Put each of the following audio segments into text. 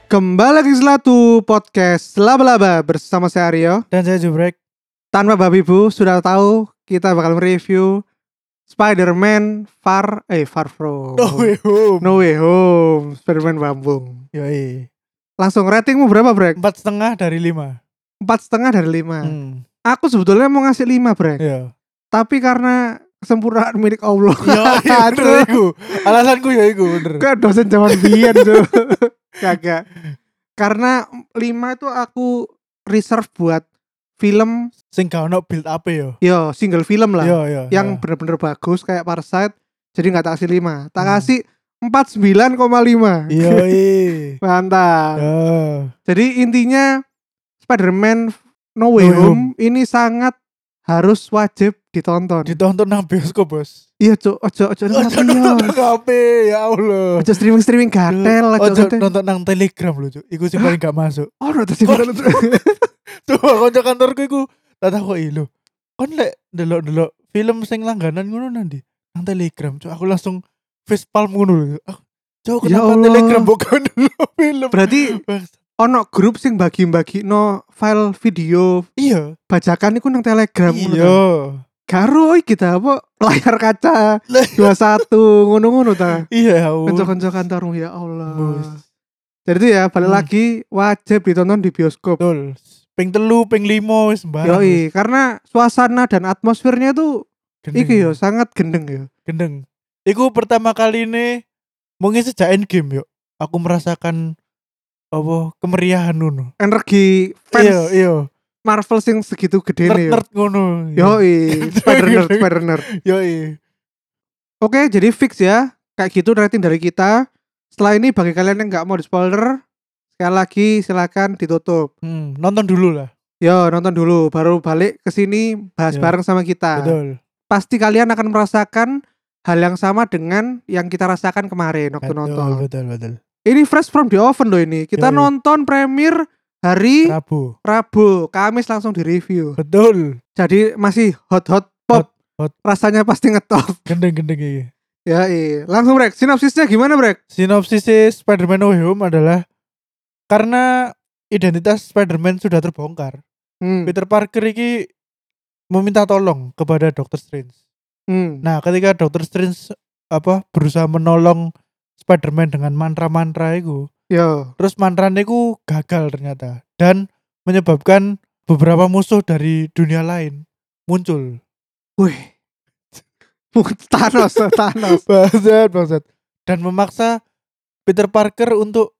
Kembali lagi Selatu Podcast Laba-Laba bersama saya Aryo Dan saya Jubrek. Tanpa babi bu, sudah tahu kita bakal mereview Spider-Man Far From No Way Home. No Way Home, Spider-Man Bambung. Yoi. Langsung ratingmu berapa Brek? 4,5 dari 5. 4,5 dari 5. Aku sebetulnya mau ngasih 5 Brek. Iya. Tapi karena kesempurnaan milik Allah. Iya bener iku. Alasanku ya iku bener. Kayak dosen zaman biyen tuh. Kagak. Karena 5 itu aku reserve buat film Sing gak ono build up ya. yo single film lah. Iya. Yang bener-bener bagus kayak Parasite. Jadi gak tak kasih 5. Tak kasih 49,5. Yoi. Mantap. Jadi intinya Spider-Man No Way Home ini sangat harus wajib ditonton. Ditonton nang bioskop, Bos. Iya, Cuk. Ojo Nonton HP ya Allah. Ojo streaming gatel, Ojo nonton nang Telegram lho, Cuk. Iku sing paling gak masuk. Oh, nonton streaming. Coba kanca kantorku iku tak takoki lho. Kon lek delok-delok film sing langganan ngono nanti nang Telegram, Cuk. Aku langsung facepalm ngono lho. Cuk, Ya kenapa Allah. Telegram bukan delok film? Berarti ono grup sing bagi-bagi no file video Iya. bajakan iku nang Telegram ngono ta. Iya. Karo kita apa layar kaca 21 ngono-ngono ta. Iya, Kanca-kanca kantormu ya Allah. Bos. Jadi itu ya balik lagi wajib ditonton di bioskop. Betul. Ping 3, ping 5 wis sembarang. Yoi, karena suasana dan atmosfernya tuh iki yo sangat gendeng yo. Gendeng. Iku pertama kali ini mungkin sejak Endgame yo. Aku merasakan apa kemeriahan ngono. Energi fans Iya. Marvel sing segitu gede nih yo. Nerd ngono. Yoi, Spider Nerd. Yoi. Oke, jadi fix ya. Kayak gitu rating dari kita. Setelah ini bagi kalian yang nggak mau di spoiler, sekali lagi silakan ditutup. Nonton dulu lah. Yo, nonton dulu baru balik ke sini bahas Yo. bareng sama kita. Betul. Pasti kalian akan merasakan hal yang sama dengan yang kita rasakan kemarin waktu nonton. Betul. Ini fresh from the oven loh ini. Kita Yoi. nonton premier hari Rabu, Kamis langsung di review. Betul. Jadi masih hot pop. Hot. Rasanya pasti ngetop. Gendeng iki. Ya, langsung Brek. Sinopsisnya gimana Brek? Sinopsis Spider-Man No Way Home adalah karena identitas Spider-Man sudah terbongkar. Peter Parker iki meminta tolong kepada Doctor Strange. Nah, ketika Doctor Strange berusaha menolong Spider-Man dengan mantra-mantra itu, terus mantranya itu gagal ternyata dan menyebabkan beberapa musuh dari dunia lain muncul. Wih. Thanos. Bangsat. Dan memaksa Peter Parker untuk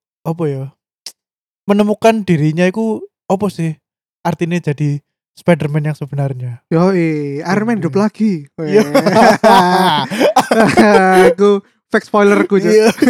menemukan dirinya itu apa sih artinya jadi Spider-Man yang sebenarnya. Iron Man hidup lagi. Iya. Aku fake spoiler ku.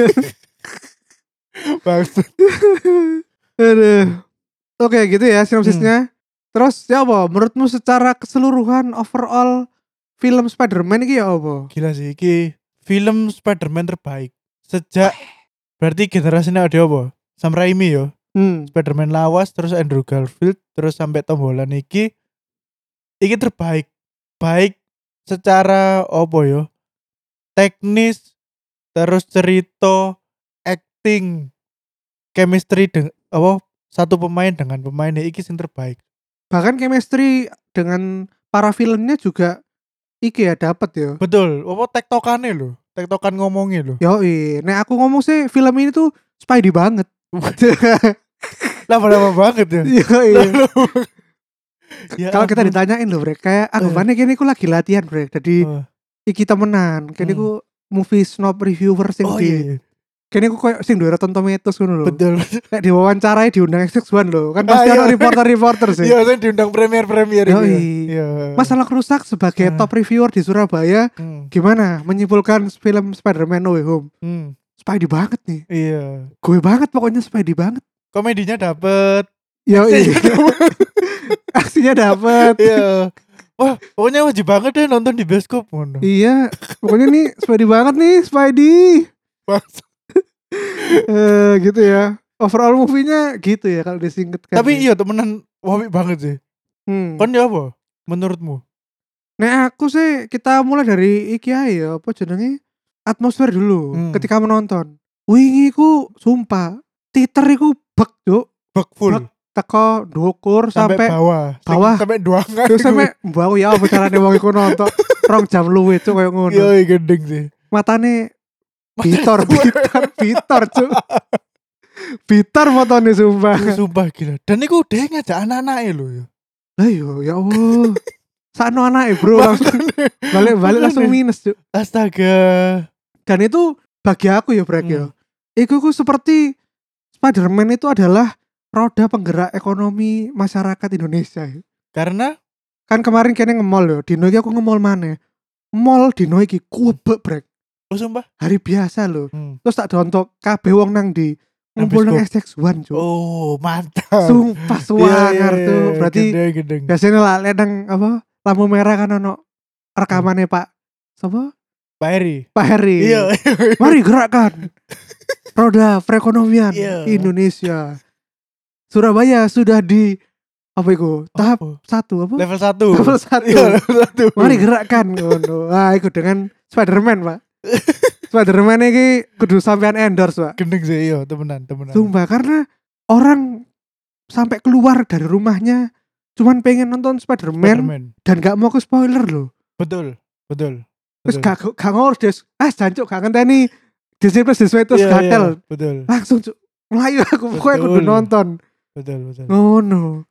Bangsat. Aduh. Oke, gitu ya sinopsisnya. Terus ya apa? Menurutmu secara keseluruhan overall film Spider-Man ini ya apa? Gila sih, ini film Spider-Man terbaik sejak berarti generasinya ada apa? Sam Raimi yo. Spider-Man lawas, terus Andrew Garfield, terus sampai Tom Holland iki terbaik. Baik secara teknis, terus cerita, acting, chemistry satu pemain dengan pemainnya iki sing terbaik. Bahkan chemistry dengan para villainnya juga iki ya dapat ya. Betul, tektokannya lho, tektokan ngomongnya lho. Nek aku ngomong sih film ini tuh Spidey banget. Lama-lama banget ya. Ya kalau kita ditanyain loh Brek, kayak anggapannya kini aku lagi latihan Brek. Jadi iki temenan, kini aku movie snob reviewer sing kini aku kayak sing duwe Rotten Tomatoes ngono lho. Betul. Kayak diwawancarai diundang XX1 lho. Kan pasti ada reporter sih. Iya, saya diundang premier Iya. Masalah rusak sebagai top reviewer di Surabaya, gimana menyimpulkan film Spider-Man No Way Home? Spidey banget nih. Iya. Gue banget pokoknya Spidey banget. Komedinya dapet. Aksinya dapet. Iya. Wah, pokoknya wajib banget deh nonton di bioskop. Iya, pokoknya nih Spidey banget nih, Spidey. Gitu ya. Overall movie-nya gitu ya kalau disingkatkan. Tapi iya temenan wamik banget sih. Kon ya apa menurutmu? Nah aku sih kita mulai dari iki ae ya, apa jenenge? Atmosfer dulu ketika menonton. Wingi ku sumpah, teater iku bek cuk. Bek full. Bek teko ndukur sampai sampai bawah. Sampai duangan. Terus sampai mbak ya apa carane wong iku nonton 2 jam luwe cuk koyo ngono. Yo gendeng sih. Matane Bitor cuk. Bitor motone sumpah. Sumpah gila. Dan iku dia ngajak anak-anake lho yo. Lah yo ya Allah. Sakno anake bro langsung balik langsung minus cuk. Astaga. Dan itu bagi aku ya Brek ya. Iku seperti Spider-Man itu adalah roda penggerak ekonomi masyarakat Indonesia. Karena kan kemarin kene nge-mall yo, dino iki aku nge-mall maneh. Mall dino iki kubek Brek. Oh sumpah hari biasa lho. Terus tak dontok kabeh wong nang di ngumpul nang SX1 cuk. Oh, mantap. Sumpah suwangar tuh. Berarti gedeng. biasanya lah nang apa lampu merah kan ono rekamannya Pak sapa? Pak Heri. Iya. Mari gerakkan roda perekonomian Indonesia. Surabaya sudah di apa itu? Tahap 1 apa? Level 1. Iya, level 1. Mari gerakkan ngono. Ah, iku dengan Spider-Man, Pak. Spider-Man iki kudu sampean endorse, Pak. Gendeng sih iya, temenan. Sumpah karena orang sampai keluar dari rumahnya cuman pengen nonton Spider-Man. Dan gak mau ke spoiler loh. Betul. Terus gak ngurus des. Jancuk gak ngenteni Disney Plus terus gatel. Betul. Langsung cuk melayu aku pokoknya kudu nonton. Betul. No.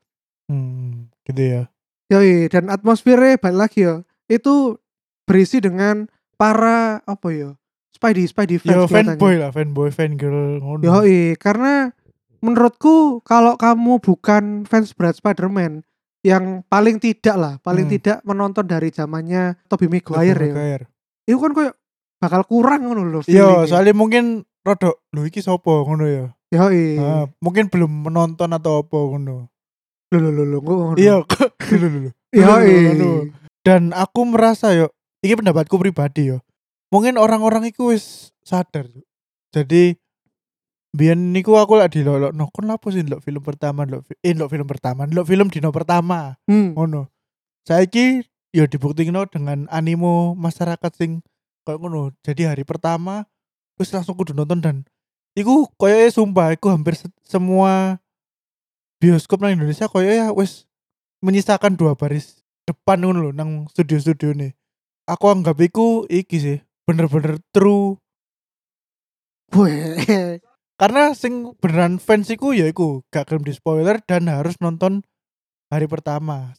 Gitu ya. Yoi, dan atmosfernya balik lagi ya. Itu berisi dengan para apa ya? Spidey fans. Yo fanboy, fangirl ngono. Yoi, karena menurutku kalau kamu bukan fans berat Spider-Man yang paling tidak menonton dari zamannya Tobey Maguire ya. Itu kan kayak bakal kurang ngono lho. Iya, soalnya mungkin rodok lho iki sapa ngono ya. Yoi. Mungkin belum menonton atau apa ngono. Lho ngono. Iya, Yoi. Dan aku merasa yo, ini pendapatku pribadi yo. Mungkin orang-orang itu wis sadar. Jadi biyen niku aku lak dilolokno kon lapo sih ndelok film pertama ndelok film dino pertama. Ngono. Saiki yo dibuktikno dengan animo masyarakat sing koyo ngono. Jadi hari pertama wis langsung kudu nonton dan iku koyoke sumpah iku hampir semua bioskop nang Indonesia koyoke wis menyisakan 2 baris depan ngono lho nang studio-studio nih. Aku anggap iku iki sih bener-bener true. Karena sing beneran fans iku ya iku gak gelem di spoiler dan harus nonton hari pertama.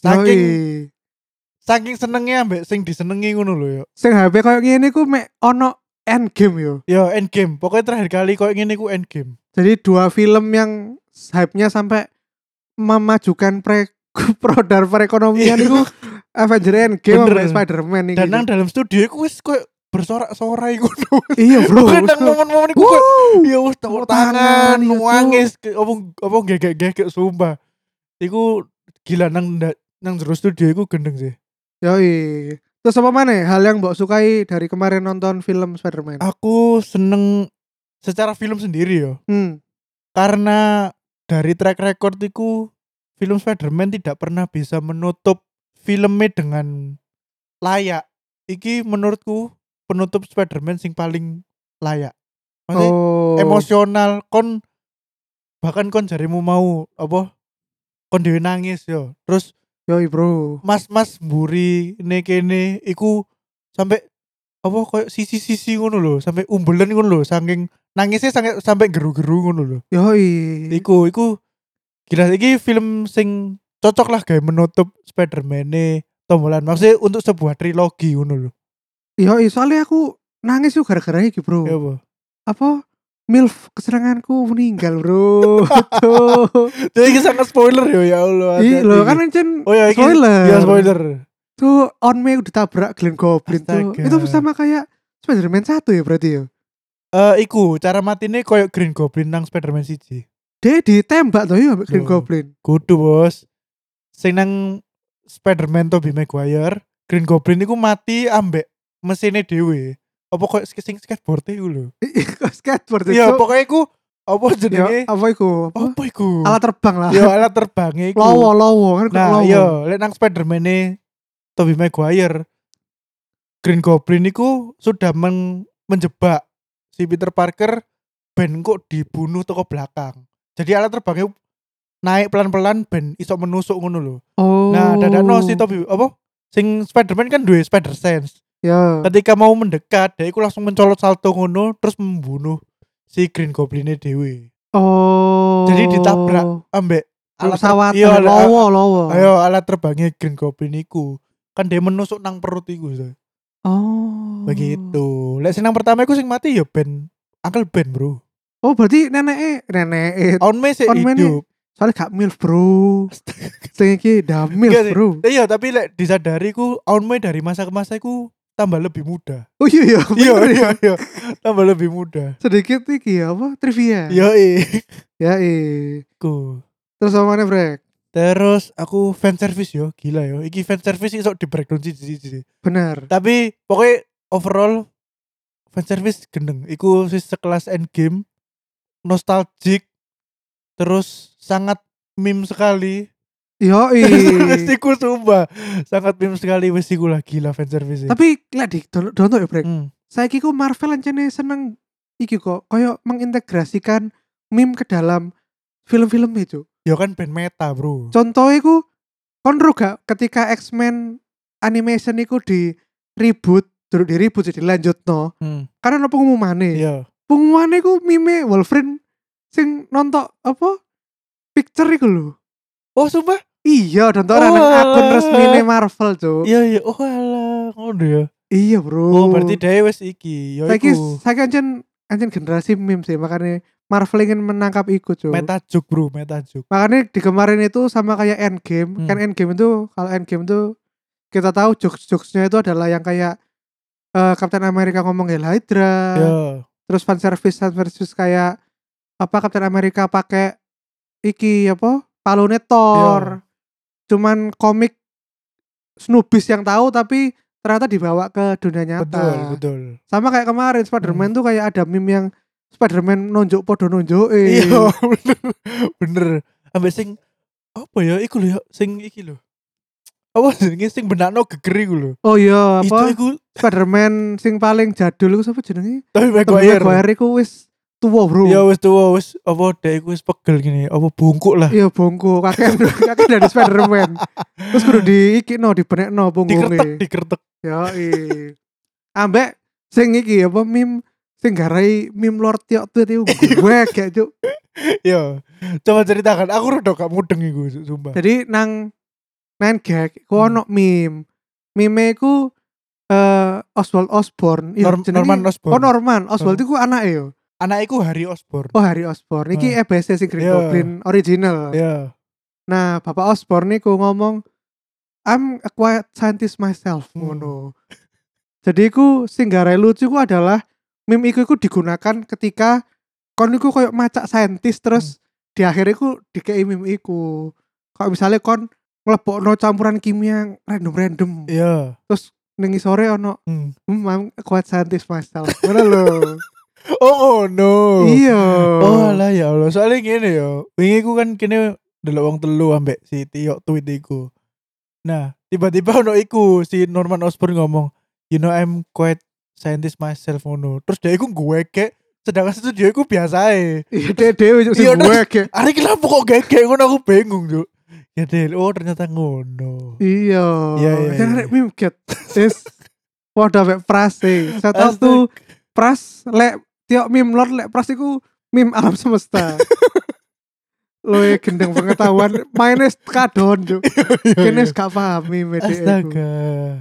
Saking senengnya ambek sing disenengi ngono lho yo. Sing HP koyo ngene ku mek ono Endgame yo. Yo Endgame. Pokoknya terakhir kali koyo ngene ku Endgame. Jadi 2 film yang hype-nya sampai memajukan produk perekonomian itu Avengers Endgame sama Spider-Man iki. Dan nang dalam studio iku wis koyo bersorak-sorai ngono. Iya bro. Nang momen-momen iku ya wis tepuk tangan, nangis, apa gegek sumpah. Iku gila nang jero studio iku gendeng sih. Yoi. Terus apa mana hal yang mbok sukai dari kemarin nonton film Spider-Man? Aku seneng secara film sendiri yo. Karena dari track record iku film Spider-Man tidak pernah bisa menutup filmnya dengan layak. Iki menurutku penutup Spider-Man sing paling layak. Maksudnya emosional bahkan kon jarimu mau apa kon dhewe nangis yo. Terus yoi bro, mas mburi kene iku sampai apa koyo sisi ngono lho, sampai umbelan ngono lho, saking nangisnya sampai geru-geru ngono lho. Yoi. Iku gila iki film sing cocok lah kayak menutup Spider-Man Tom Holland. Maksudnya untuk sebuah trilogi ngono lho. Yoi, soalnya aku nangis tuh gara-gara iki bro. Ya apa? MILF kesenanganku meninggal bro. Jadi sangat spoiler ya Allah. Iya loh kan ancen spoiler. Ya spoiler. Tuh on me udah tabrak Glenn Goblin tuh. Itu sama kayak Spider-Man 1 ya berarti ya. Iku cara matine koyo Green Goblin nang Spider-Man 1. Dia ditembak tuh ya Green Goblin. Kudu bos. Sing nang Spider-Man Tobey Maguire, Green Goblin iku mati ambek mesinnya dhewe. Apa kok sing skateboard iku lho. Skateboard. Iya, pokoknya iku apa jenenge? Apa iku? Alat terbang lah. Ya alat terbang iku. Lowo kan nah, lowo. Iya, lek nang Spider-Man Tobey Maguire, Green Goblin iku sudah menjebak si Peter Parker ben kok dibunuh toko belakang. Jadi alat terbangnya naik pelan-pelan ben iso menusuk ngono lho. Oh. Nah, dadakno si Toby apa? Sing Spider-Man kan duwe spider sense. Ya. Ketika mau mendekat, dia iku langsung mencolot salto ngono terus membunuh si Green Goblin-nya dewe. Oh. Jadi ditabrak ambek alat pesawat lowo. Ayo alat terbangnya Green Goblin iku. Kan dia menusuk nang perut iku. Oh. Begitu. Lek sing nang pertama iku sing mati ya Ben. Uncle Ben, Bro. Oh, berarti nenek Aunt May sih hidup. Soalnya gak milf, Bro. Sing iki dah milf, Bro. Iya, tapi lek disadari ku Aunt May dari masa ke masa iku tambah lebih muda. Oh iya. Iya. Tambah lebih muda. Sedikit iki apa? Trivia. Yo Ku. Terus apa mana, Brek? Terus aku fan service yo, gila yo. Iki fan service iso di breakdown siji. Bener. Tapi pokoknya overall fan service gendeng. Iku sekelas Endgame, nostalgic, terus sangat meme sekali. Wesiku sumpah sangat meme sekali wesiku lah gila fan service. Tapi lek di download ya Brek. Saiki ku Marvel ancene seneng iki kok koyo mengintegrasikan meme ke dalam film-film itu. Ya kan band meta, Bro. Contohnya ku kon ro gak ketika X-Men animation iku di reboot, durung di reboot jadi lanjutno. Karena ono pengumumane. Iya. Pengumumane ku meme Wolverine sing nonton apa? Picture iku lho. Oh, sumpah? Iya, nonton akun resmine Marvel, Cuk. Iya. Oh alah, ngono ya. Iya, Bro. Oh, berarti dhewe wis iki. Ya iku. Saiki ancen generasi meme sih, makanya Marvel ingin menangkap iku, Cuk. Meta joke, Bro, meta joke. Makanya di kemarin itu sama kayak Endgame. Kan Endgame itu, kalau Endgame itu kita tahu jokes-jokesnya itu adalah yang kayak Captain America ngomong Hail Hydra. Terus fan service kayak apa Captain America pakai iki apa? Palune Thor. Cuman komik snubis yang tahu tapi ternyata dibawa ke dunia nyata. Betul. Sama kayak kemarin Spider-Man tuh kayak ada meme yang Spider-Man nonjok podo nonjok. Iya, bener. Ambek sing apa ya iku lho ya sing iki lho. Apa jenenge sing benakno geger iku lho. Oh iya, apa? Iku Spider-Man sing paling jadul iku sapa jenenge? Tobey Maguire iku wis tuwa, Bro. Iya wis tuwa, wis apa dek iku wis pegel gini, apa bungkuk lah. Iya, bungkuk. Kakek dari Spider-Man. Terus kudu dibenekno punggungnya. Dikertek. Ya, ambek sing iki apa meme sing garai meme Lord Tiok tuh itu gue kayak Cuk. Yo, coba ceritakan. Aku rada gak mudeng iku, sumpah. Jadi nang gag ku ono meme. Meme ku Oswald Osborn. Norman Osborn. Oh, Norman. Oswald iku anake yo. Anake iku Harry Osborn. Oh, Harry Osborn. Iki EBC sing Green Goblin original. Iya. Nah, Bapak Osborn niku ngomong I'm a quiet scientist myself. Ngono. Jadi iku sing garai lucu ku adalah meme iku digunakan ketika kon iku koyo macak saintis terus di akhir iku dikei meme iku. Kalau misalnya kon nglebokno campuran kimia random. Iya. Terus ning sore ono I'm a quiet scientist myself. Ngono lho. Oh no. Iya. Oh alah ya Allah. Soalnya gini ya. Wingi ku kan kene delok wong telu ambek si Tio tweet iku. Nah, tiba-tiba ono iku si Norman Osborn ngomong, "You know I'm quite scientist myself ngono." Terus dia iku ngeweke, sedangkan studio iku biasa ae. Iya, dhewe sing ngeweke. Ari kenapa kok gege ngono aku bingung, Cuk. Ya Del, oh ternyata ngono. Iya. Kan arek meme get. Wis padha mek Pras e. Saya tahu Pras lek Tio meme Lord lek Pras iku meme alam semesta. Loe gendeng pengetahuan mainnya kadon Cuk. Kene gak paham meme dhek. Astaga.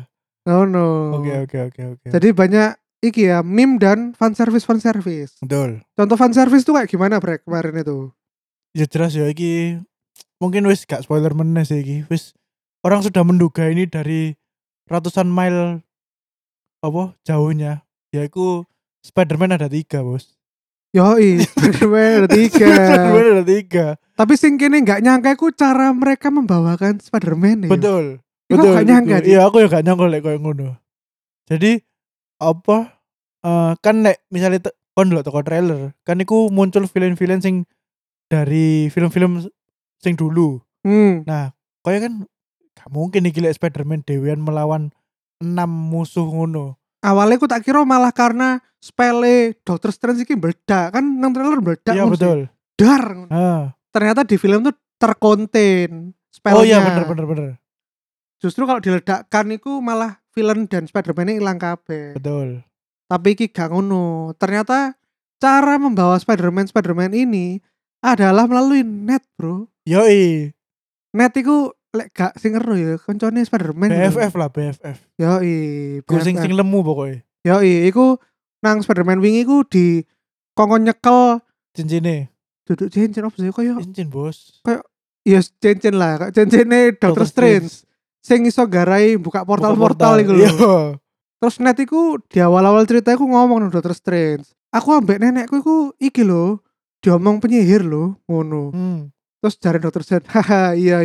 No. Oke. Jadi banyak iki ya meme dan fan service. Betul. Contoh fan service tuh kayak gimana Brek kemarin itu? Ya jelas ya iki mungkin wis gak spoiler meneh sih iki. Wis orang sudah menduga ini dari ratusan mile apa jauhnya. Yaitu Spider-Man ada 3, Bos. Yoi, Spider-Man ada 3. Tapi sing kene gak nyangka ku cara mereka membawakan Spider-Man ya. Betul. Gak nyangka. Iya, aku ya gak nyangka lek koyo ngono. Jadi apa kan lek misalnya kon delok toko trailer, kan iku muncul villain-villain sing dari film-film sing dulu. Nah, koyo kan gak mungkin iki lek Spider-Man dewean melawan 6 musuh ngono. Awalnya aku tak kira malah karena spele Doctor Strange iki meledak kan nang trailer meledak. Iya betul. dar. Ternyata di film tuh terkonten spellnya. Oh iya bener. Justru kalau diledakkan itu malah villain dan Spider-Man ini hilang kabeh. Betul. Tapi iki gak ngono. Ternyata cara membawa Spider-Man ini adalah melalui net, bro. Yoi. Net iku lek gak sing ngeru ya, koncone Spider-Man. BFF lah, BFF. Yoi. Ku sing lemu pokoknya. Yoi, iku nang Spider-Man wingi ku di kongkon nyekel cincine. Duduk cincin apa sih koyo? Cincin, Bos. Kayak ya cincin lah, kayak cincine Doctor Strange. Sing iso garai buka portal-portal iku lho. Terus net iku di awal-awal cerita iku ngomong nang Doctor Strange. Aku ambek nenekku iku iki lho, diomong penyihir lho, ngono. Terus jare Doctor Strange, haha iya.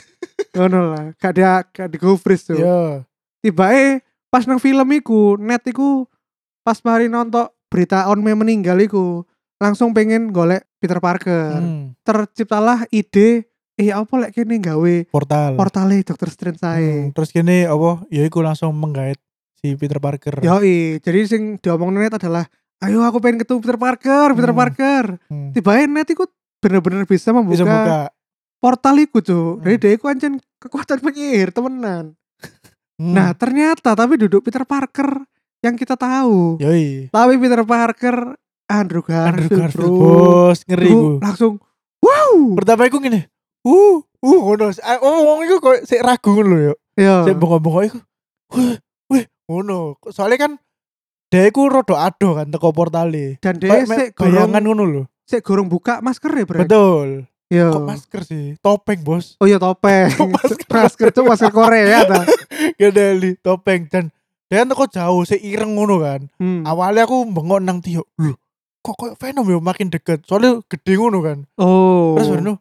Ngono lah, gak di go freeze tuh. Iya. Tibae pas nang film iku, net iku pas mari nonton berita On May meninggal iku, langsung pengen golek Peter Parker. Terciptalah ide apa lek kene gawe portale Doctor Strange sae. Terus kene apa ya iku langsung menggait si Peter Parker. Yoi, jadi sing diomongin net adalah ayo aku pengen ketemu Peter Parker. Tibae net iku bener-bener bisa membuka portal iku, Cuk. Dari dia iku ancen kekuatan penyihir temenan. Nah, ternyata tapi duduk Peter Parker yang kita tahu. Yoi. Tapi Peter Parker Andrew Garfield, bro. Bos, ngeri gue. Langsung wow. Pertama iku ngene. Ngono. Wong iku kok sik ragu ngono yo. Iya. Sik bengok-bengok iku. Wih, ngono. Soalnya kan dia iku rada ado kan teko portale. Dan dia sik bayangan ngono lho. Sik gorong buka masker ya, Bro. Betul. Yo. Kok masker sih? Topeng, Bos. Oh iya topeng. masker tuh masker Korea ta. Gedeli topeng dan dia teko jauh sik ireng ngono kan. Awalnya aku bengok nang Tio. Loh, kok kayak Venom ya makin deket. Soalnya gede ngono kan. Oh. Terus baru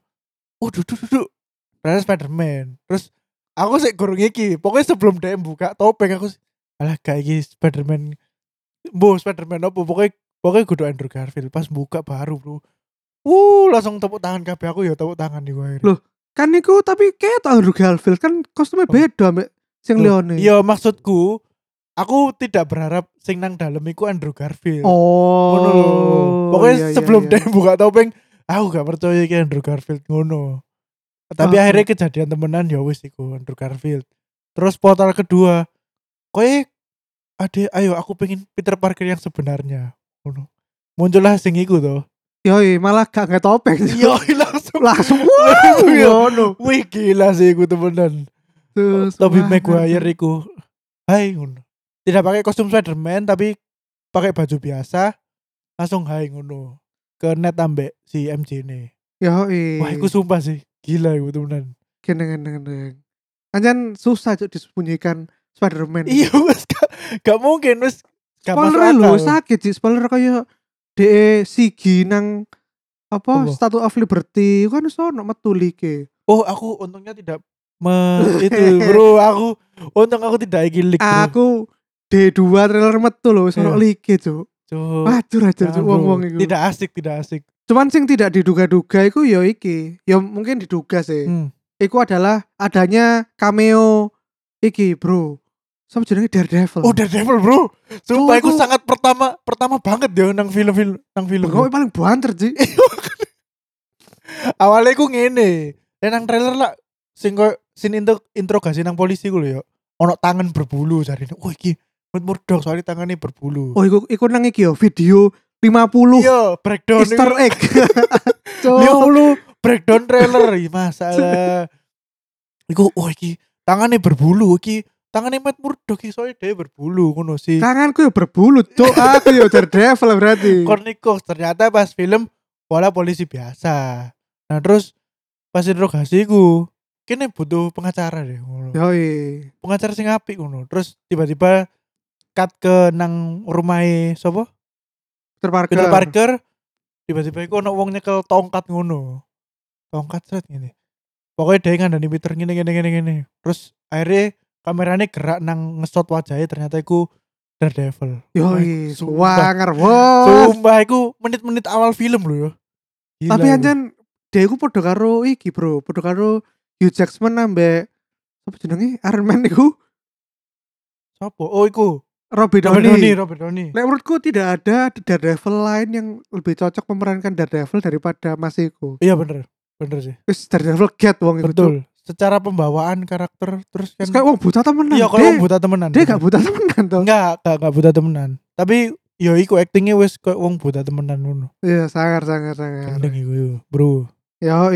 duduk. Ternyata Spider-Man. Terus aku sik gorong iki. Pokoknya sebelum dia buka topeng aku alah gak iki Spider-Man. Spider-Man apa? Pokoknya kudu Andrew Garfield. Pas buka baru, bro. Langsung tepuk tangan kabeh aku ya tepuk tangan di wae. Loh, kan niku tapi kayak Andrew Garfield kan kostumnya beda mbek sing liyane. Iya, maksudku aku tidak berharap sing nang dalem iku Andrew Garfield. Oh. Pokoknya sebelum dia buka topeng, aku gak percaya iki Andrew Garfield ngono. Tapi akhirnya kejadian temenan ya wis iku Andrew Garfield. Terus portal kedua, ayo aku pengen Peter Parker yang sebenarnya. Ngono. Muncullah sing iku to. Yoi, malah gak topeng. Yoi, langsung ngono. Wih, gila sih iku temenan. Tobey Maguire iku. Hai ngono. Tidak pakai kostum Spider-Man tapi pakai baju biasa. Langsung hai ngono. Ke net ambek si MJ ini. Yoi. Wah, iku sumpah sih. Gila iku temenan. Gendeng. Anjan susah cuk disembunyikan Spider-Man. Iya, wis gak mungkin wis. Spoiler lho, sakit sih spoiler kaya Sigi nang apa Statue of Liberty kan sono metu like. Oh, aku untungnya tidak itu bro, untung aku tidak iki leak. Aku D2 trailer metu lho sono like, Cuk. Waduh wong-wong iku. Tidak asik. Cuman sing tidak diduga-duga iku ya iki. Ya mungkin diduga sih. Iku adalah adanya cameo iki, bro. Sama jenenge Daredevil. Oh, Daredevil, bro. Sumpah iku sangat pertama banget ya nang film. Kok paling banter sih. Awalnya iku ngene. Nang trailer lah sing interogasi nang polisi ku lho ya. Ono tangan berbulu jarine. Oh iki Murdoch soalnya tangannya berbulu. Oh iku nang iki ya video 50. Iya, breakdown Easter egg. 50 breakdown trailer masalah. Iku iki tangannya berbulu iki. Tangannya Matt Murdock soalnya dia berbulu ngono sih. Tanganku ya berbulu, Cuk. Aku ya Daredevil berarti. Kornikos ternyata pas film pola polisi biasa. Nah, terus pas interogasi ku kene butuh pengacara deh ngono. Yoi. Pengacara sing apik ngono. Terus tiba-tiba cut ke nang rumahe sapa? Peter Parker. Tiba-tiba iku ono wong nyekel tongkat ngono. Tongkat set ngene. Pokoknya dia ngandani Peter ngene. Terus akhirnya kameranya gerak nang nge-shot wajahnya ternyata iku Daredevil. Yoi, wanger bos. Sumpah iku menit-menit awal film lho ya. Tapi anjan dia iku podo karo iki, bro. Podo karo Hugh Jackman ambek apa jenenge Iron Man iku. Sopo? Oh iku Robert Downey. Lek menurutku tidak ada Daredevil lain yang lebih cocok memerankan Daredevil daripada Mas Iko. Iya bener sih. Wis Daredevil get wong itu. Betul. Secara pembawaan karakter terus kan kayak wong buta temenan. Iya, kalau wong buta temenan. Dia gak buta temenan toh. Enggak buta temenan. Tapi yo iku actingnya wis kayak wong buta temenan ngono. Iya, sangar. Gendeng iku, bro. Yo,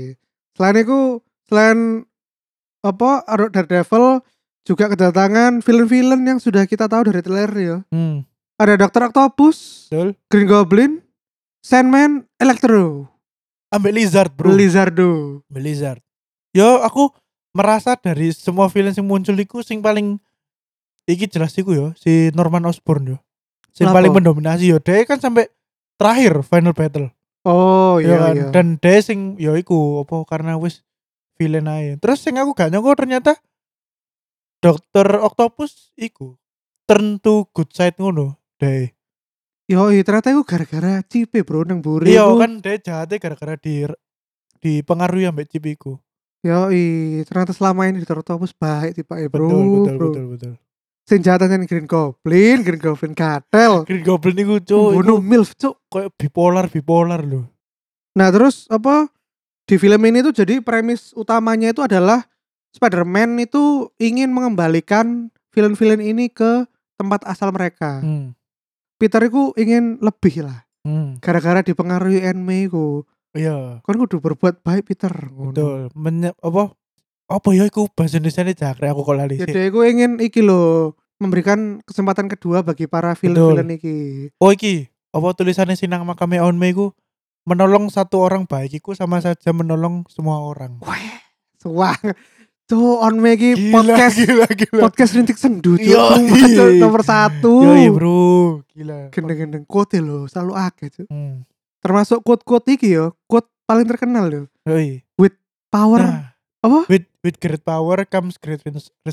selain apa Daredevil juga kedatangan villain-villain yang sudah kita tahu dari trailer ya. Ada Dr. Octopus, betul. Green Goblin, Sandman, Electro, ambek Lizard, bro. Lizard. Yo, aku merasa dari semua villain yang muncul iku sing paling iki jelas iku yo, si Norman Osborn yo. Sing paling mendominasi yo. Dia kan sampai terakhir final battle. Oh iya, iya. Dan dia sing yo iku apa karena wis villain aja. Terus sing aku gak nyangka ternyata Dr. Octopus iku turn to good side ngono deh. Ternyata iku gara-gara Cipe bro nang buri. Iya kan dia jahatnya gara-gara dipengaruhi ambek Cip iku. Ternyata selama ini Dr. Octopus baik tipe bro. Betul. Sing jahatnya Green Goblin Cartel. Green Goblin iku cuk, bunuh MILF cuk, kayak bipolar loh. Nah, terus apa di film ini tuh jadi premis utamanya itu adalah Spider-Man itu ingin mengembalikan villain-villain ini ke tempat asal mereka. Peter itu ingin lebih lah. Gara-gara dipengaruhi Aunt May ku. Iya. Kan kudu berbuat baik Peter. Betul. Apa ya iku bahasa Indonesiane jangkrik aku kok lali sih. Jadi aku ingin iki loh memberikan kesempatan kedua bagi para villain-villain iki. Oh iki, apa tulisannya Sinang Makame Aunt May ku menolong satu orang baik iku sama saja menolong semua orang. Wah, tuh Aunt May iki podcast rintik sendu nomor 1. Iya bro, gila. Gendeng-gendeng quote lo selalu akeh tuh. Termasuk quote iki yo, quote paling terkenal yo. With power, apa? With great power comes great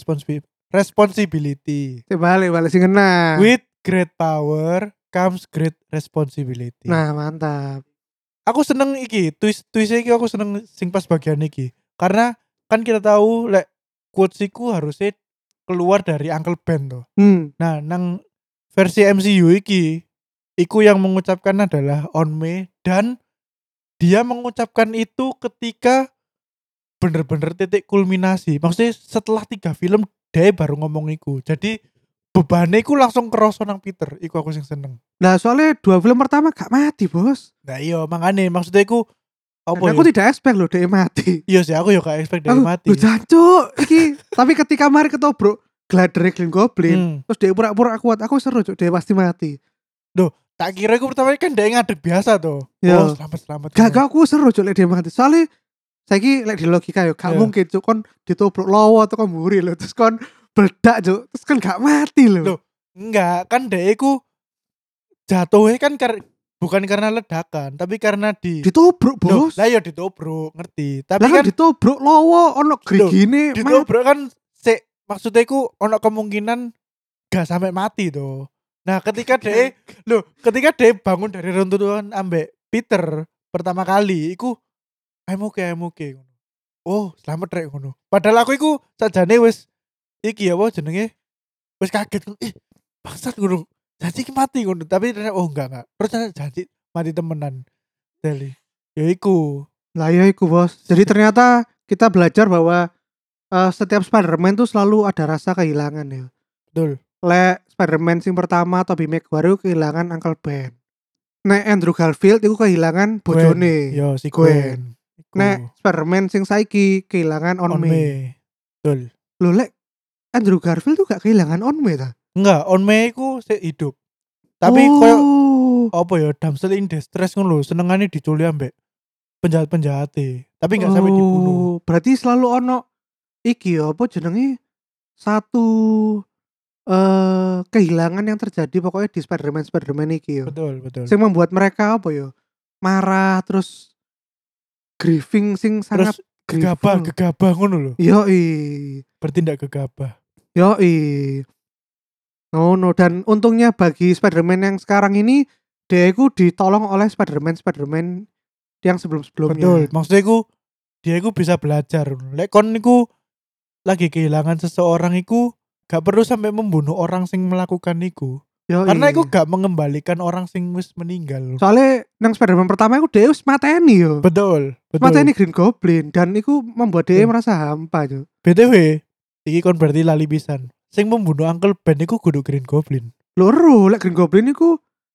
responsibility. Balik sing ngena. With great power comes great responsibility. Nah, mantap. Aku seneng iki, twist iki aku seneng sing pas bagian iki. Karena kan kita tahu lek quotes iku harusnya keluar dari Uncle Ben tuh. Nah, nang versi MCU iki iku yang mengucapkan adalah Aunt May dan dia mengucapkan itu ketika bener-bener titik kulminasi. Maksudnya setelah 3 film dia baru ngomong iku. Jadi bebannya iku langsung kerasa nang Peter. Iku aku sing seneng. Nah, soalnya 2 film pertama gak mati, Bos. Nah iya, makanya maksudnya iku aku tidak expect loh dia mati. Iya sih, aku ya gak expect dia mati. Lu jancuk iki. Tapi ketika mari ketobrak glider Green Goblin, terus dia pura-pura kuat, aku seru cuk dia pasti mati. Duh, tak kira aku pertama kan dia ngadeg biasa tuh. Oh, selamat. Gak aku seru cuk dia mati. Soalnya saiki lek di logika yo gak mungkin cuk kon ditobrok lawa atau kon mburi lho terus kon bledak cuk. Terus kan gak mati lho. Loh, enggak, kan dia iku jatuhnya kan bukan karena ledakan, tapi karena ditobrok, Bos. Lah ya ditobrok, ngerti. Tapi kan ditobrok lawa ono grigine. Ditobrok kan maksudnya iku ono kemungkinan gak sampai mati tuh. Nah, ketika dia bangun dari runtuhan ambek Peter pertama kali iku I'm okay. Oh, selamat rek ngono. Padahal aku iku sajane wis iki apa jenenge? Wis kaget. Bangsat ngono. Janji mati ngono, tapi ternyata enggak. Terus janji mati temenan. Jadi, ya iku. Lah ya iku, Bos. Jadi ternyata kita belajar bahwa setiap Spider-Man tuh selalu ada rasa kehilangan ya. Betul. Lek Spider-Man sing pertama Tobey Maguire kehilangan Uncle Ben. Nek Andrew Garfield itu kehilangan bojone. Yo si Gwen. Nek Spider-Man sing saiki kehilangan Aunt May. Betul. Lho lek Andrew Garfield tuh gak kehilangan Aunt May ta? Enggak, Aunt May iku hidup. Tapi koyo apa ya damsel in distress ngono lho, senengane diculik ambek penjahat-penjahate. Tapi enggak sampai dibunuh. Berarti selalu ono iki ya apa jenenge satu kehilangan yang terjadi pokoknya di Spider-Man iki ya. Betul. Sing membuat mereka apa ya? Marah terus grieving sing sangat gegabah ngono lho. Yoi. Bertindak gegabah. Yoi. No, dan untungnya bagi Spider-Man yang sekarang ini dia itu ditolong oleh Spider-Man yang sebelum-sebelumnya. Betul. Maksudnya dia bisa belajar. Lek kon niku lagi kehilangan seseorang iku gak perlu sampai membunuh orang sing melakukan iku. Karena iku gak mengembalikan orang sing wis meninggal. Soalnya nang Spider-Man pertama iku dia wis mateni yo. Betul. Mateni Green Goblin dan iku membuat dia merasa hampa yo. BTW, iki kon berarti lali pisan. Sing membunuh Uncle Ben iku kudu Green Goblin. Loro, lek Green Goblin iku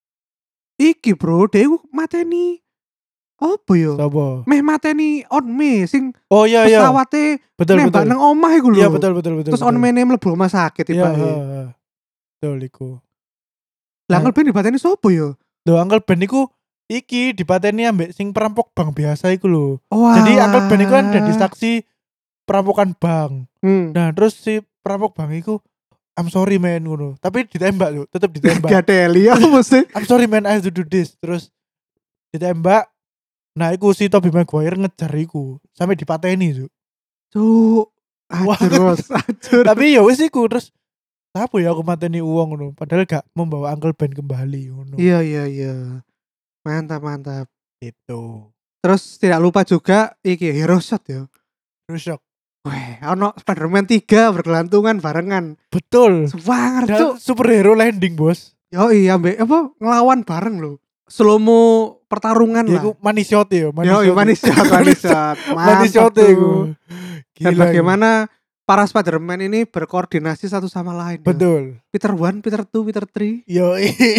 iki bro, dia iku mateni apa yo? Sopo? Meh mateni On Me sing oh iya pesawate nembak nang omah iku lho. Iya betul. Terus On Me mlebu rumah sakit tibake. Iya, betul iku. Lah Uncle Ben dipateni sopo yo? Lho Uncle Ben iku iki dipateni ambek sing perampok bank biasa iku lho. Jadi Uncle Ben iku kan jadi saksi perampokan bank. Nah, terus si perampok bank iku I'm sorry man ngono. Tapi ditembak lho, tetep ditembak. Gateli ya mesti. I'm sorry man I have to do this. Terus ditembak. Nah, iku si Tobey Maguire ngejar iku sampai dipateni, Cuk. Ajur. Tapi ya wis iku terus apa ya aku mateni uang ngono, padahal gak membawa Uncle Ben kembali ngono. Iya. Mantap. Itu. Terus tidak lupa juga iki Hero Shot ya. Hero Shot. Weh, ono Spider-Man 3 bergelantungan barengan. Betul. Semangat cuk. Superhero landing, Bos. Yoi, ambek apa ngelawan bareng lho. Slow-mo pertarungan lah. Iku money shot ya, money shot. Money shot iku. Dan bagaimana para Spider-Man ini berkoordinasi satu sama lain. Betul. Peter 1, Peter 2, Peter 3. Yo.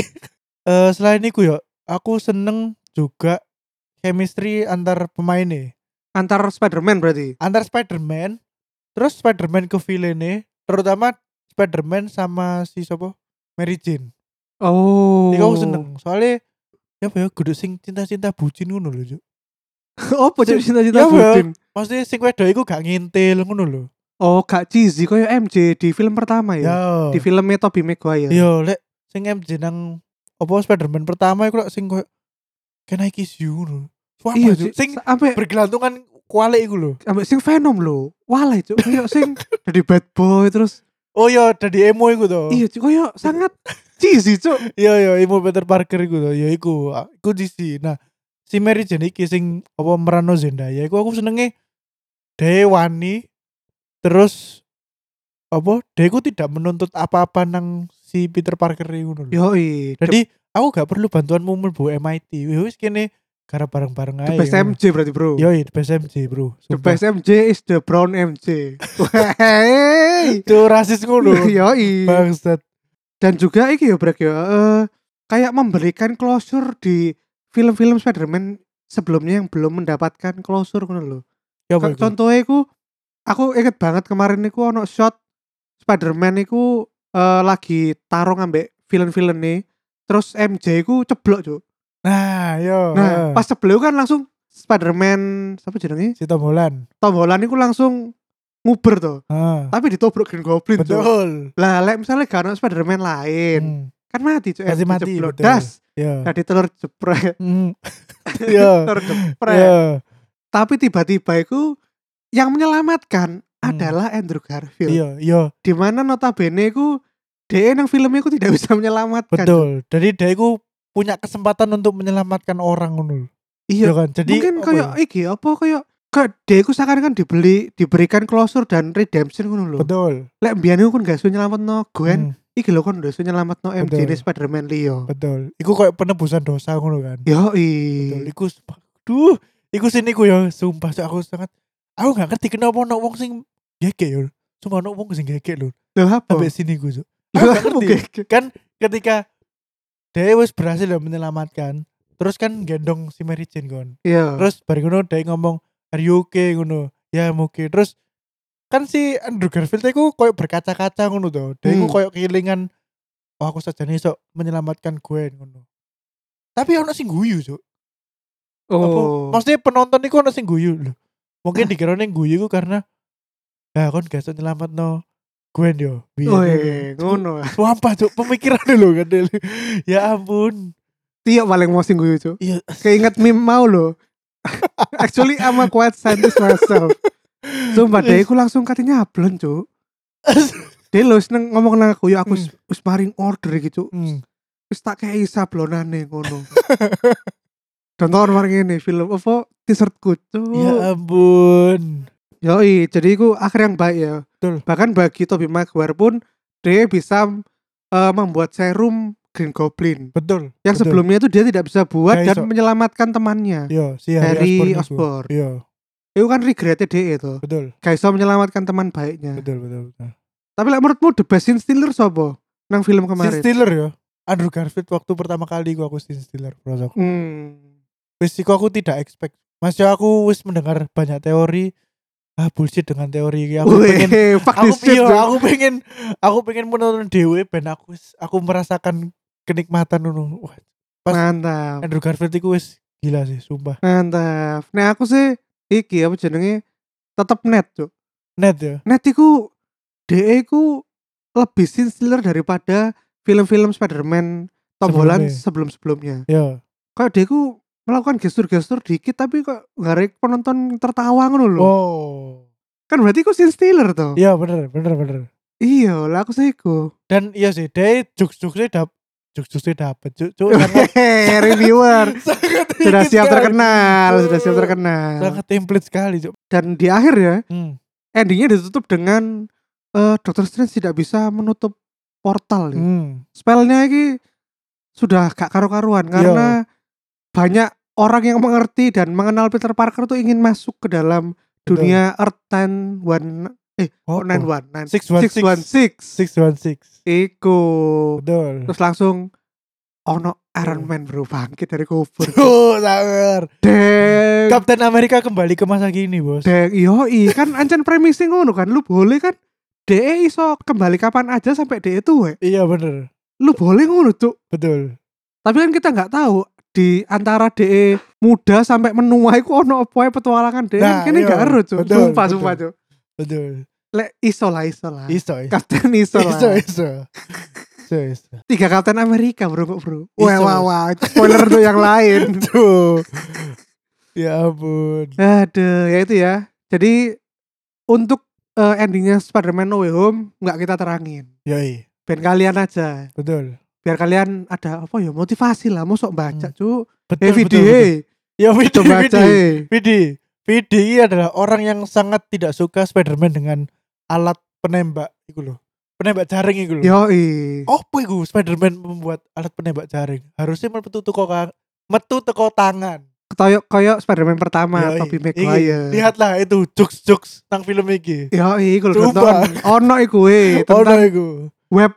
Selain itu ya, aku seneng juga chemistry antar pemainnya. Antar Spider-Man berarti? Antar Spider-Man. Terus Spider-Man ke villain-nya, terutama Spider-Man sama si sopo? Mary Jane. Oh. Iku aku seneng. Soalnya ya kudu sing cinta-cinta bucin ngono lho, Cuk. Opo cinta-cinta bucin? Maksudnya sing wedok iku gak ngintil ngono lho. Oh, gak cheesy koyo MJ di film pertama ya. Di filmnya Tobey Maguire. Yo, lek sing MJ nang opo Spider-Man pertama iku lek sing koyo Can I Kiss You ngono. Iya, sing sampai bergelantungan kualik iku lho. Sampai sing Venom lho. Walai cuk, koyo sing dari bad boy terus. Oh iya, dari emo iku to. Iya, cuk, koyo sangat cheesy cuk. Iya, emo Peter Parker iku to. Ya iku cheesy. Nah, si Mary Jane iki sing apa merano Zendaya iku aku senenge Dewani. Terus apa? Deku tidak menuntut apa-apa nang si Peter Parker ngono lho. Yoi. Jadi aku gak perlu bantuanmu mlebu MIT. Wis kene garap bareng-bareng ae. The best MJ berarti, bro. Yoi, the best MJ, bro. The best MJ is the brown MJ. Itu rasis ngono. Yoi. Bangsat. Dan juga iki ya Brek ya, kayak memberikan closure di film-film Spider-Man sebelumnya yang belum mendapatkan closure ngono lho. Contohnya aku inget banget kemarin iku ono shot Spider-Man iku lagi tarung ambek villain-villain nih. Terus MJ iku ceblok, Cuk. Nah, pas ceblok kan langsung Spider-Man siapa jenenge? Si Tom Holland. Tom Holland iku langsung nguber tuh. Tapi ditobrok Green Goblin. Betul. Lah, lek misalnya gak ono Spider-Man lain, kan mati, Cuk. Mati, ceblok. Das. Tadi telur jepret. Telur jepret. Tapi tiba-tiba iku yang menyelamatkan adalah Andrew Garfield. Iya. Dimana notabene ku dia nang filmnya ku tidak bisa menyelamatkan. Betul. Jadi dia ku punya kesempatan untuk menyelamatkan orang ngono. Iya kan. Jadi mungkin kayak iki apa kayak dia ku seakan-akan diberikan closure dan redemption ngono lho. Betul. Lek mbiyen iku kan gak iso nyelametno Gwen, iki lho kon iso nyelametno MJ di Spider-Man Leo. Betul. Iku kayak penebusan dosa ngono kan. Betul. Iku sini ku ya sumpah aku sangat aku gak ngerti kenapa ono wong sing gege yo. Cuma ono wong sing gege lho. Lho apa? Sampai sini ku. Aku gak ngerti. Kan ketika dia wis berhasil menyelamatkan, terus kan gendong si Mary Jane kon. Iya. Terus bareng ngono dia ngomong are you okay ngono. Ya oke. Terus kan si Andrew Garfield iku koyo berkaca-kaca ngono to. Dia iku koyo kelingan aku sajane iso menyelamatkan Gwen ngono. Tapi ono sing guyu, Cuk. Maksudnya penonton iku ono sing guyu lho. Mungkin dikira ning guyu iku karena kon gak iso nyelametno Gwen yo. Ngono. Sumpah, Cuk, pemikiran lho kan. Ya ampun. Tio paling mau sing guyu, Cuk. Iya. Keinget meme mau lho. Actually I'm a quite scientist myself. Sumpah deh aku langsung katanya ablon, Cuk. Dia lo seneng ngomong nang aku, ya aku wis maring order gitu. Wis tak kei sablonane ngono. Contoh maring ngene film apa t-shirtku, Cuk. Ya ampun. Yoi, jadi iku akhir yang baik ya. Betul. Bahkan bagi Tobey Maguire pun dia bisa membuat serum Green Goblin. Betul. Yang sebelumnya itu dia tidak bisa buat dan menyelamatkan temannya. Iya, si Harry Osborn. Iya. Itu kan regretnya dia itu. Betul. Gak bisa menyelamatkan teman baiknya. Betul. Tapi menurutmu the best scene stealer siapa? Nang film kemarin. Scene stealer ya. Andrew Garfield waktu pertama kali aku scene stealer prosok. Wis aku tidak expect. Masih aku wis mendengar banyak teori. Bullshit dengan teori ini. Aku pengen menonton dewe ben aku merasakan kenikmatan ngono. Mantap. Andrew Garfield itu wis gila sih, sumpah. Mantap. Nah aku sih iki apa jenenge tetep net, Cuk. Net ya. Net iku DE iku lebih scene stealer daripada film-film Spider-Man Tom Holland sebelum-sebelumnya. Iya. Kayak dia ku melakukan gestur-gestur dikit tapi kok ngarek penonton tertawa ngono lho. Oh. Kan berarti ku scene stealer toh. Iya bener. Iya lah aku sih iku. Dan iya sih dia jokes-jokesnya dapet reviewer sudah siap terkenal. Sangat template sekali, Cuk. Dan di akhir ya endingnya ditutup dengan Doctor Strange tidak bisa menutup portal ya. Spellnya ini sudah gak karu-karuan karena banyak orang yang mengerti dan mengenal Peter Parker tuh ingin masuk ke dalam dunia Earth 616 Iku. Betul. Terus langsung ono Iron Man bro bangkit dari kubur. Sangar. Captain America kembali ke masa kini, Bos. Kan ancen premising ngono kan. Lu boleh kan DE iso kembali kapan aja sampai DE tuh. Iya bener. Lu boleh ngono, Cuk. Betul. Tapi kan kita nggak tahu di antara DE muda sampai menua iku ono apa petualangan DE kan kene gak ero, Cuk. Sumpah, Cuk. Betul. Lek iso lah. Kapten iso lah. Iso. 3 Kapten Amerika bro. Wah. Spoiler untuk yang lain. Tuh. Ya ampun. Aduh, ya itu ya. Jadi untuk endingnya Spider-Man No Way Home nggak kita terangin. Yoi. Ben kalian aja. Betul. Biar kalian ada apa ya motivasi lah, mosok baca Cuk. Betul. Ya Vidi adalah orang yang sangat tidak suka Spider-Man dengan alat penembak itu loh. Penembak jaring itu loh. Yoi. Apa itu Spider-Man membuat alat penembak jaring? Harusnya metu teko tangan. Kayak Spider-Man pertama Tobey Maguire. Lihatlah itu jokes nang film iki. Yoi, iku lho ono iku web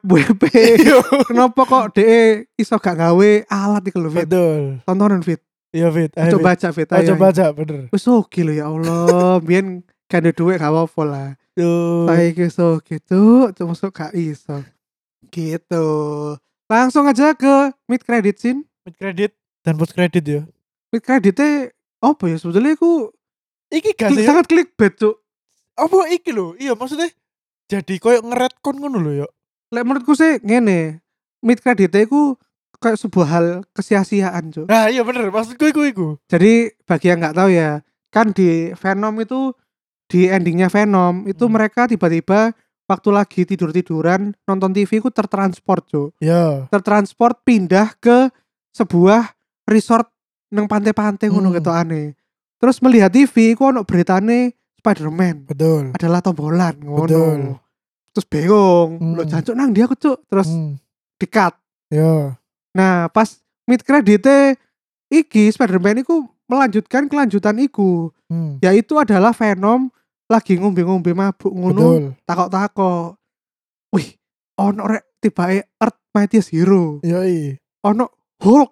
kenapa kok DE iso gak gawe alat iku lho, Fit. Betul. Tontonan, Fit. Iya, Fit. Coba baca, Fit. Coba baca, bener. Wis oke lho ya Allah, biyen gak ada duit gak apa-apa lah. Saiki iso gitu, cuma gak iso. Gitu. Langsung aja ke mid credit scene. Mid credit dan post credit ya. Mid creditnya apa ya sebetulnya aku iki gak sih sangat clickbait, Cuk. Apa iki lho? Iya maksudnya jadi koyo ngeretcon ngono lho ya. Lek menurutku sih ngene, mid creditnya iku kayak sebuah hal kesia-siaan, Cuk. Nah iya bener, maksudku iku. Jadi bagi yang gak tahu ya, kan di Venom itu, di endingnya Venom itu mereka tiba-tiba waktu lagi tidur-tiduran nonton TV ku tertransport, Cuk. Iya. Tertransport pindah ke sebuah resort nang pantai-pantai ngono ketokane. Terus melihat TV ku ono beritane Spider-Man. Betul. Adalah Tom Holland ngono. Betul. Terus bingung, lo jancuk nang dia aku, Cuk. Terus di-cut. Iya. Nah, pas mid credit iki Spider-Man iku melanjutkan kelanjutan iku. Yaitu adalah Venom lagi ngombe-ngombe mabuk ngono, takok-takok. Wih, ono rek tibae Earth Mightiest Hero. Yoi. Ono Hulk.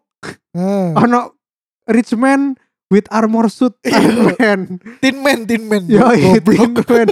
Ono Rich Man with armor suit Iron Man. Tin Man. Yoi, Tin Man.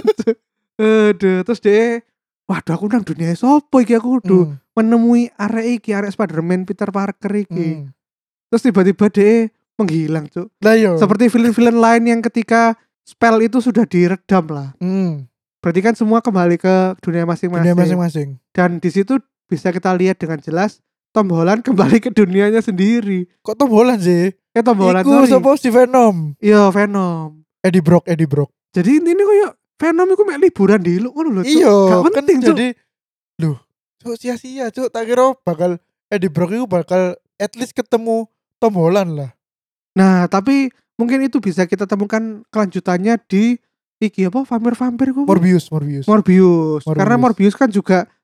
Aduh, terus dia waduh aku nang dunia sopo iki aku kudu menemui arek Spider-Man Peter Parker iki. Terus tiba-tiba dia menghilang, Cuk. Seperti film-film lain yang ketika spell itu sudah diredam lah. Berarti kan semua kembali ke dunia masing-masing. Dan di situ bisa kita lihat dengan jelas Tom Holland kembali ke dunianya sendiri. Kok Tom Holland sih? Tom Holland. Iku sapa si Venom? Iya, Venom. Eddie Brock. Jadi ini kayak Venom iku mek liburan di lu ngono lho, Cuk. Iya, gak penting, kan jadi loh, Cuk sia-sia, Cuk. Tak kira bakal Eddie Brock itu bakal at least ketemu Tom Holland lah. Nah, tapi mungkin itu bisa kita temukan kelanjutannya di iki apa vampir-vampir kok. Morbius. Karena Morbius kan juga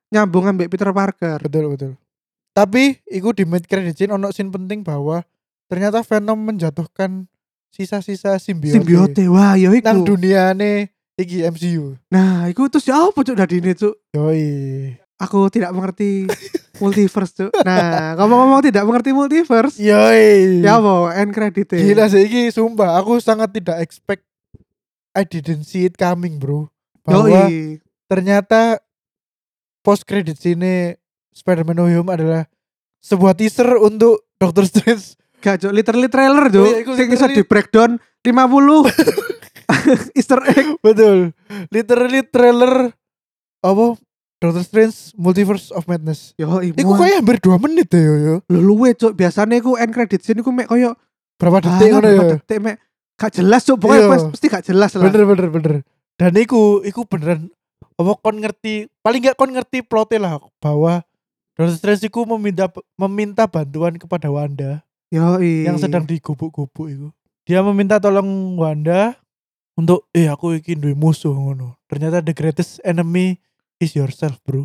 nyambung ambek Peter Parker. Betul. Tapi iku di mid credit scene ono scene penting bahwa ternyata Venom menjatuhkan sisa-sisa simbiote. Wah, yo iku. Nang duniane iki MCU. Nah, iku terus ya apa cuk dadine cuk? Yoi. Aku tidak mengerti multiverse cuk. Nah, ngomong-ngomong tidak mengerti multiverse. Yoi. Ya apa end credit. Gila sih iki sumpah aku sangat tidak expect. I didn't see it coming, bro. Bahwa ternyata post credit scene Spider-Man No Way Home adalah sebuah teaser untuk Doctor Strange. Gak cuk, literally trailer cuk. Sing iso di breakdown 50 Easter egg. Betul. Literally trailer apa? Doctor Strange Multiverse of Madness. Iku kayak hampir 2 menit deh yo. Luwe cuk, biasanya iku end credit scene iku mek koyo berapa detik ngono ya. Detik mek gak jelas cuk, pokoknya pasti gak jelas lah. Bener. Dan iku beneran apa kon ngerti, paling gak kon ngerti plotnya lah bahwa Doctor Strange iku meminta bantuan kepada Wanda. Yang sedang digubuk-gubuk itu. Dia meminta tolong Wanda untuk aku iki duwe musuh ngono. Ternyata the greatest enemy is yourself, bro.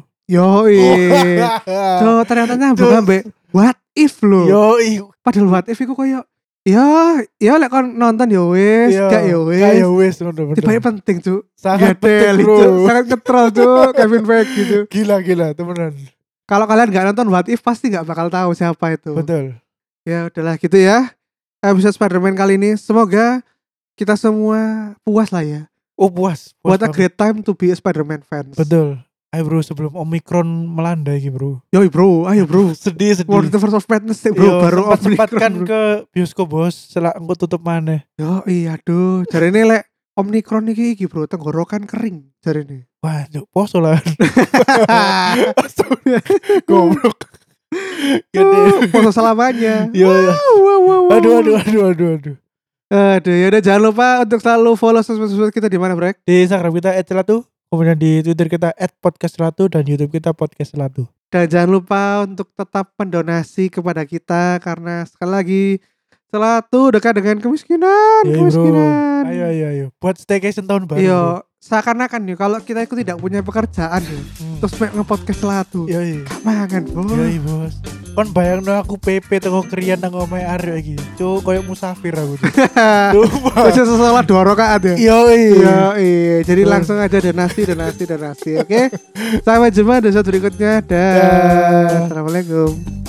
So ternyata nyambung ambek what if lo. Padahal what if iku koyo ya lek kon nonton ya wis, gak ya wis ngono. Tiba penting cuk. Sangat penting, bro. Sangat ngetrol cuk Kevin Feige gitu. Gila temenan. Kalau kalian gak nonton what if pasti gak bakal tahu siapa itu. Betul. Ya udahlah gitu ya. Episode Spider-Man kali ini semoga kita semua puas lah ya. Puas. What a great time to be a Spider-Man fans. Betul. Ayo bro, sebelum Omicron melanda iki bro. Ayo bro. sedih. Multiverse of Madness bro. Baru sempatkan ke bioskop bos. Setelah engko tutup maneh. Aduh. Jarine lek Omicron iki bro, tenggorokan kering jarine. Wah, poso lah. Goblok. Poso selamanya. Aduh. Ya udah jangan lupa untuk selalu follow sosmed kita di mana, Brek? Di Instagram kita @celatu, kemudian di Twitter kita @podcastcelatu dan YouTube kita podcastcelatu. Dan jangan lupa untuk tetap mendonasi kepada kita karena sekali lagi Celatu dekat dengan kemiskinan. Ayo. Buat staycation tahun baru. Iya, seakan-akan nih kalau kita itu tidak punya pekerjaan nih. Terus nge-podcast Celatu. Mangan, Bos. Bos. Kon bayangno aku PP teko kriyan nang omahe Aryo iki. Cuk, koyo musafir aku. Wis sesalah 2 rakaat ya. Jadi langsung aja donasi, oke? Sampai jumpa di episode berikutnya. Assalamualaikum.